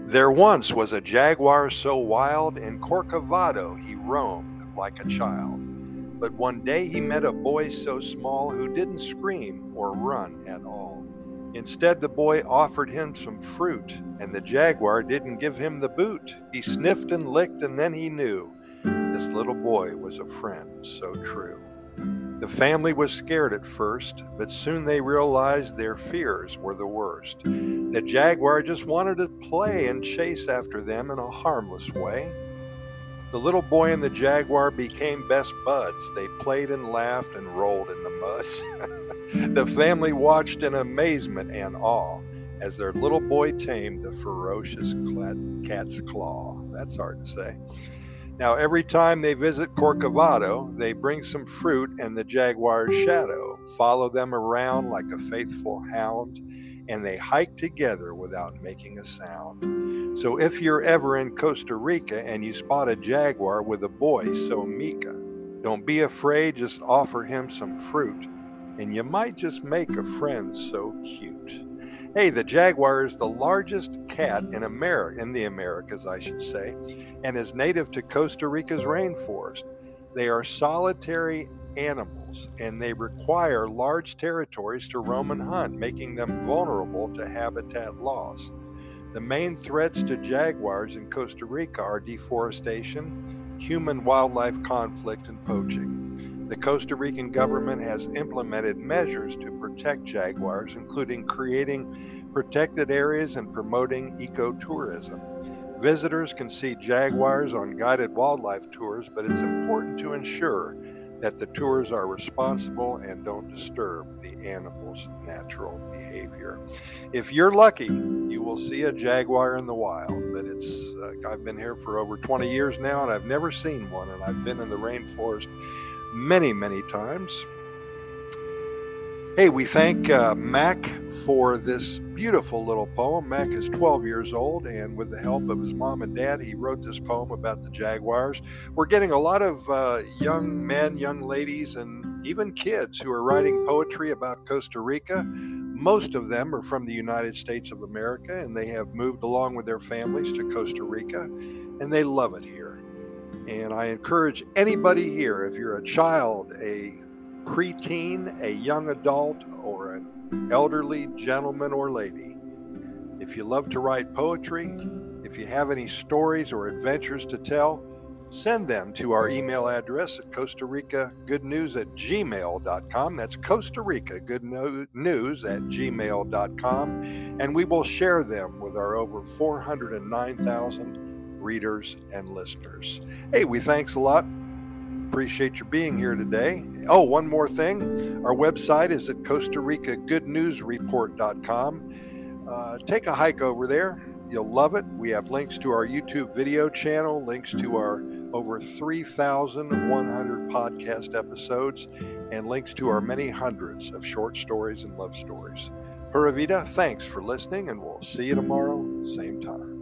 There once was a jaguar so wild, in Corcovado he roamed like a child. But one day he met a boy so small who didn't scream or run at all. Instead, the boy offered him some fruit, and the jaguar didn't give him the boot. He sniffed and licked, and then he knew this little boy was a friend so true. The family was scared at first, but soon they realized their fears were the worst. The jaguar just wanted to play and chase after them in a harmless way. The little boy and the jaguar became best buds. They played and laughed and rolled in the mud. The family watched in amazement and awe as their little boy tamed the ferocious cat's claw. That's hard to say. Now, every time they visit Corcovado, they bring some fruit and the jaguar's shadow, follow them around like a faithful hound, and they hike together without making a sound. So if you're ever in Costa Rica and you spot a jaguar with a boy so meeka, don't be afraid, just offer him some fruit, and you might just make a friend so cute. Hey, the jaguar is the largest cat in the Americas, I should say, and is native to Costa Rica's rainforest. They are solitary animals, and they require large territories to roam and hunt, making them vulnerable to habitat loss. The main threats to jaguars in Costa Rica are deforestation, human-wildlife conflict, and poaching. The Costa Rican government has implemented measures to protect jaguars, including creating protected areas and promoting ecotourism. Visitors can see jaguars on guided wildlife tours, but it's important to ensure that the tours are responsible and don't disturb the animal's natural behavior. If you're lucky, you will see a jaguar in the wild, but I've been here for over 20 years now, and I've never seen one, and I've been in the rainforest many, many times. Hey, we thank Mac for this beautiful little poem. Mac is 12 years old, and with the help of his mom and dad, he wrote this poem about the jaguars. We're getting a lot of young men, young ladies, and even kids who are writing poetry about Costa Rica. Most of them are from the United States of America, and they have moved along with their families to Costa Rica, and they love it here. And I encourage anybody here, if you're a child, a preteen, a young adult, or an elderly gentleman or lady, if you love to write poetry, if you have any stories or adventures to tell, send them to our email address at CostaRicaGoodNews@gmail.com. That's CostaRicaGoodNews@gmail.com, and we will share them with our over 409,000 readers and listeners. Hey, we thanks a lot. Appreciate your being here today. Oh, one more thing. Our website is at CostaRicaGoodNewsReport.com. Take a hike over there. You'll love it. We have links to our YouTube video channel, links to our over 3,100 podcast episodes, and links to our many hundreds of short stories and love stories. Pura Vida, thanks for listening, and we'll see you tomorrow, same time.